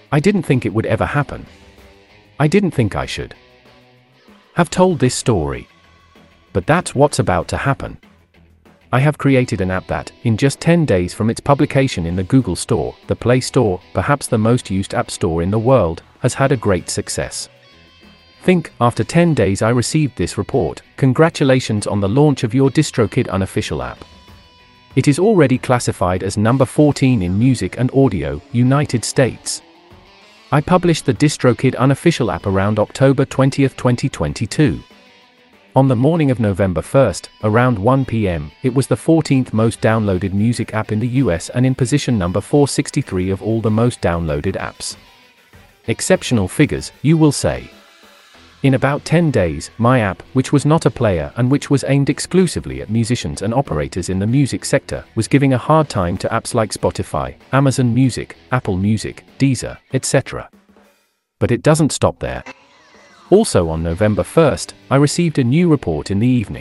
I didn't think it would ever happen. I didn't think I should have told this story. But that's what's about to happen. I have created an app that, in just 10 days from its publication in the Google Store, the Play Store, perhaps the most used app store in the world, has had a great success. Think, after 10 days I received this report: congratulations on the launch of your DistroKid unofficial app. It is already classified as number 14 in music and audio, United States. I published the DistroKid unofficial app around October 20, 2022. On the morning of November 1st, around 1 p.m., it was the 14th most downloaded music app in the US and in position number 463 of all the most downloaded apps. Exceptional figures, you will say. In about 10 days, my app, which was not a player and which was aimed exclusively at musicians and operators in the music sector, was giving a hard time to apps like Spotify, Amazon Music, Apple Music, Deezer, etc. But it doesn't stop there. Also on November 1st, I received a new report in the evening.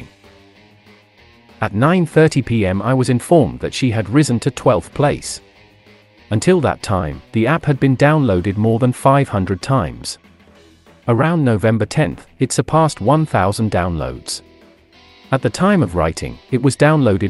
At 9:30 p.m. I was informed that she had risen to 12th place. Until that time, the app had been downloaded more than 500 times. Around November 10th, it surpassed 1,000 downloads. At the time of writing, it was downloaded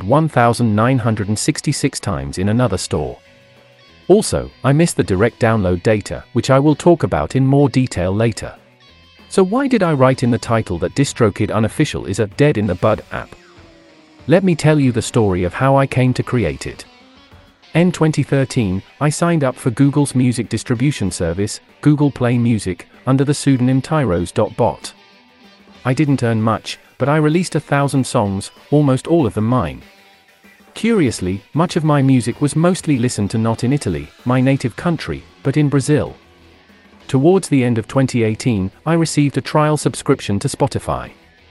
1,966 times in another store. Also, I missed the direct download data, which I will talk about in more detail later. So why did I write in the title that DistroKid Unofficial is a dead in the bud app? Let me tell you the story of how I came to create it. In 2013, I signed up for Google's music distribution service, Google Play Music, under the pseudonym Tyros.bot. I didn't earn much, but I released 1,000 songs, almost all of them mine. Curiously, much of my music was mostly listened to not in Italy, my native country, but in Brazil. Towards the end of 2018, I received a trial subscription to Spotify.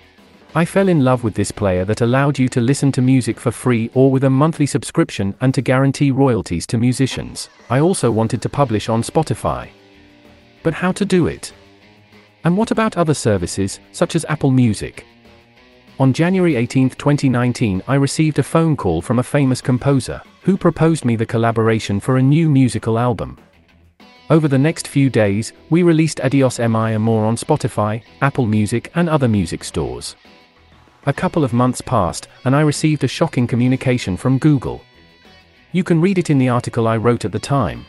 I fell in love with this player that allowed you to listen to music for free or with a monthly subscription and to guarantee royalties to musicians. I also wanted to publish on Spotify. But how to do it? And what about other services, such as Apple Music? On January 18, 2019, I received a phone call from a famous composer, who proposed me the collaboration for a new musical album. Over the next few days, we released Adios Mi Amor on Spotify, Apple Music and other music stores. A couple of months passed, and I received a shocking communication from Google. You can read it in the article I wrote at the time.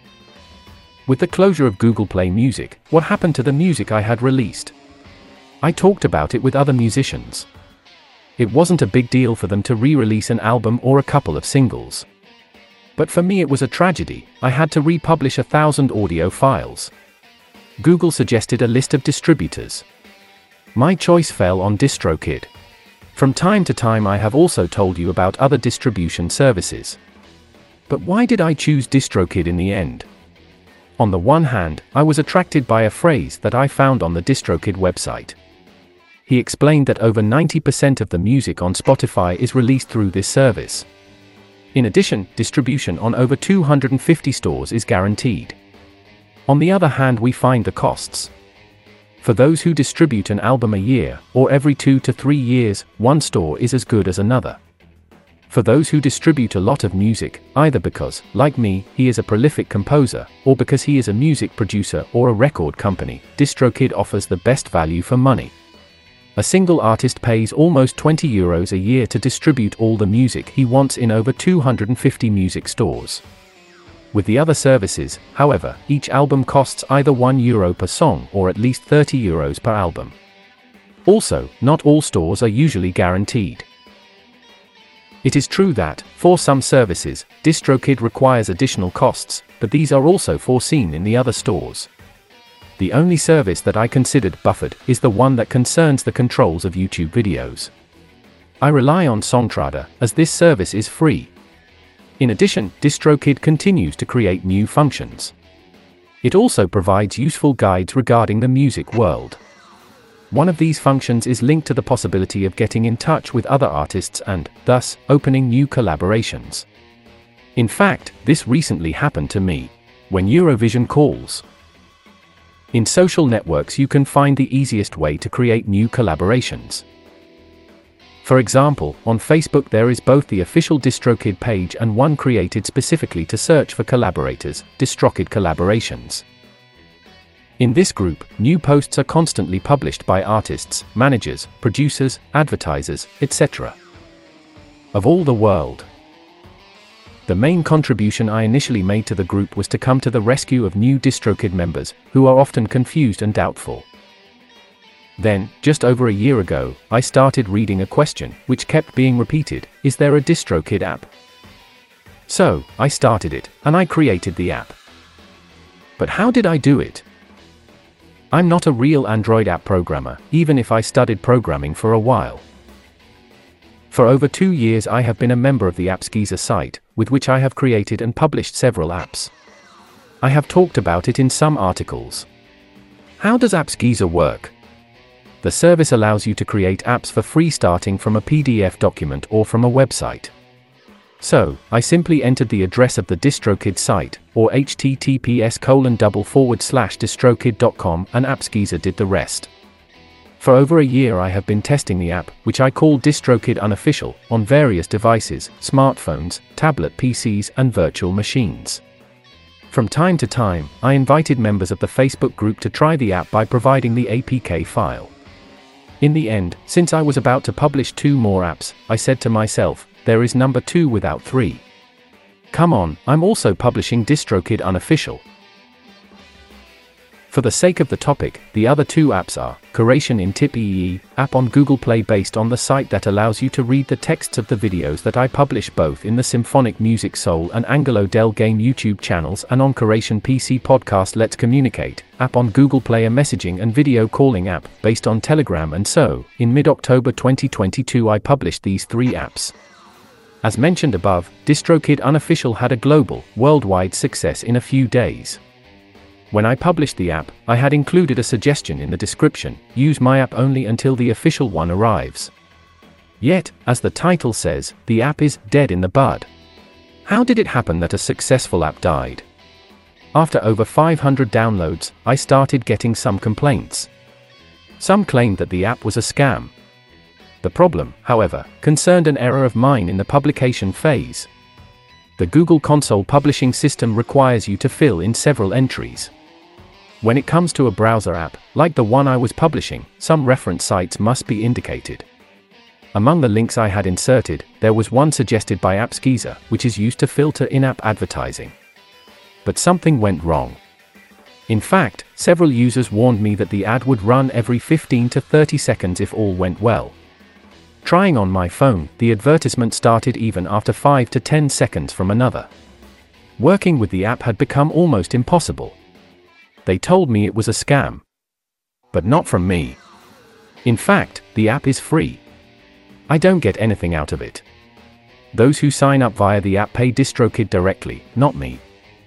With the closure of Google Play Music, what happened to the music I had released? I talked about it with other musicians. It wasn't a big deal for them to re-release an album or a couple of singles. But for me it was a tragedy. I had to republish 1,000 audio files. Google suggested a list of distributors. My choice fell on DistroKid. From time to time I have also told you about other distribution services. But why did I choose DistroKid in the end? On the one hand, I was attracted by a phrase that I found on the DistroKid website. He explained that over 90% of the music on Spotify is released through this service. In addition, distribution on over 250 stores is guaranteed. On the other hand, we find the costs. For those who distribute an album a year, or every 2 to 3 years, one store is as good as another. For those who distribute a lot of music, either because, like me, he is a prolific composer, or because he is a music producer or a record company, DistroKid offers the best value for money. A single artist pays almost €20 a year to distribute all the music he wants in over 250 music stores. With the other services, however, each album costs either €1 per song or at least €30 per album. Also, not all stores are usually guaranteed. It is true that, for some services, DistroKid requires additional costs, but these are also foreseen in the other stores. The only service that I considered buffered is the one that concerns the controls of YouTube videos. I rely on Songtrada, as this service is free. In addition, DistroKid continues to create new functions. It also provides useful guides regarding the music world. One of these functions is linked to the possibility of getting in touch with other artists and, thus, opening new collaborations. In fact, this recently happened to me. When Eurovision calls. In social networks you can find the easiest way to create new collaborations. For example, on Facebook there is both the official DistroKid page and one created specifically to search for collaborators, DistroKid Collaborations. In this group, new posts are constantly published by artists, managers, producers, advertisers, etc. of all the world. The main contribution I initially made to the group was to come to the rescue of new DistroKid members, who are often confused and doubtful. Then, just over a year ago, I started reading a question, which kept being repeated: is there a DistroKid app? So, I started it, and I created the app. But how did I do it? I'm not a real Android app programmer, even if I studied programming for a while. For over 2 years I have been a member of the AppsGeezer site, with which I have created and published several apps. I have talked about it in some articles. How does AppsGeezer work? The service allows you to create apps for free starting from a PDF document or from a website. So, I simply entered the address of the DistroKid site, or https://distrokid.com, and AppsGeezer did the rest. For over a year I have been testing the app, which I call DistroKid Unofficial, on various devices, smartphones, tablet PCs, and virtual machines. From time to time, I invited members of the Facebook group to try the app by providing the APK file. In the end, since I was about to publish 2 more apps, I said to myself, there is number 2 without 3. Come on, I'm also publishing DistroKid Unofficial. For the sake of the topic, the other 2 apps are Curation in Tip.ee, app on Google Play based on the site that allows you to read the texts of the videos that I publish both in the Symphonic Music Soul and Angelo Del Game YouTube channels, and on Curation PC podcast Let's Communicate, app on Google Play, a messaging and video calling app based on Telegram. And so, in mid-October 2022 I published these 3 apps. As mentioned above, DistroKid Unofficial had a global, worldwide success in a few days. When I published the app, I had included a suggestion in the description: use my app only until the official one arrives. Yet, as the title says, the app is dead in the bud. How did it happen that a successful app died? After over 500 downloads, I started getting some complaints. Some claimed that the app was a scam. The problem, however, concerned an error of mine in the publication phase. The Google Console publishing system requires you to fill in several entries. When it comes to a browser app, like the one I was publishing, some reference sites must be indicated. Among the links I had inserted, there was one suggested by AppsGeezer, which is used to filter in-app advertising. But something went wrong. In fact, several users warned me that the ad would run every 15 to 30 seconds if all went well. Trying on my phone, the advertisement started even after 5 to 10 seconds from another. Working with the app had become almost impossible. They told me it was a scam. But not from me. In fact, the app is free. I don't get anything out of it. Those who sign up via the app pay DistroKid directly, not me.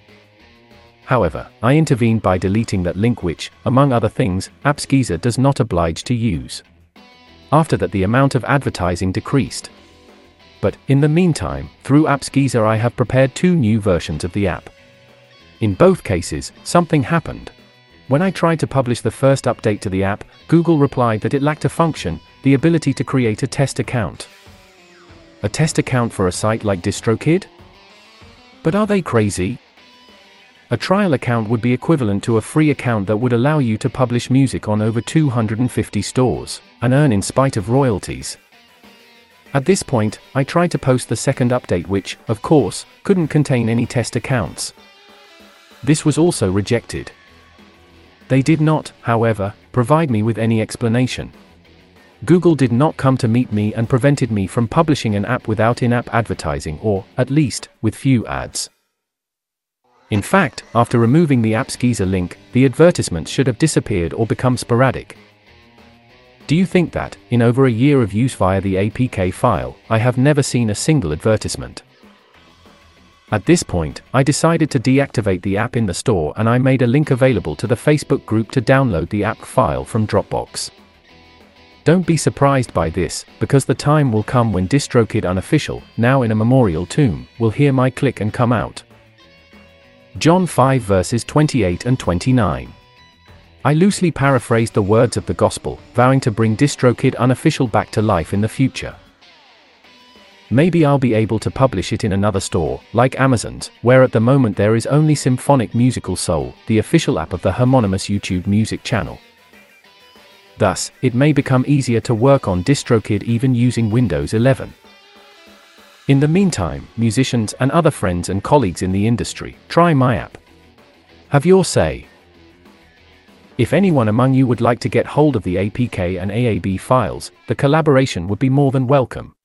However, I intervened by deleting that link which, among other things, AppsGeezer does not oblige to use. After that the amount of advertising decreased. But, in the meantime, through AppsGeezer I have prepared 2 new versions of the app. In both cases, something happened. When I tried to publish the first update to the app, Google replied that it lacked a function, the ability to create a test account. A test account for a site like DistroKid? But are they crazy? A trial account would be equivalent to a free account that would allow you to publish music on over 250 stores, and earn in spite of royalties. At this point, I tried to post the second update which, of course, couldn't contain any test accounts. This was also rejected. They did not, however, provide me with any explanation. Google did not come to meet me and prevented me from publishing an app without in-app advertising or, at least, with few ads. In fact, after removing the AppsGeezer link, the advertisements should have disappeared or become sporadic. Do you think that, in over a year of use via the APK file, I have never seen a single advertisement? At this point, I decided to deactivate the app in the store and I made a link available to the Facebook group to download the app file from Dropbox. Don't be surprised by this, because the time will come when DistroKid Unofficial, now in a memorial tomb, will hear my click and come out. John 5 verses 28 and 29. I loosely paraphrased the words of the Gospel, vowing to bring DistroKid Unofficial back to life in the future. Maybe I'll be able to publish it in another store, like Amazon's, where at the moment there is only Symphonic Musical Soul, the official app of the homonymous YouTube music channel. Thus, it may become easier to work on DistroKid even using Windows 11. In the meantime, musicians and other friends and colleagues in the industry, try my app. Have your say. If anyone among you would like to get hold of the APK and AAB files, the collaboration would be more than welcome.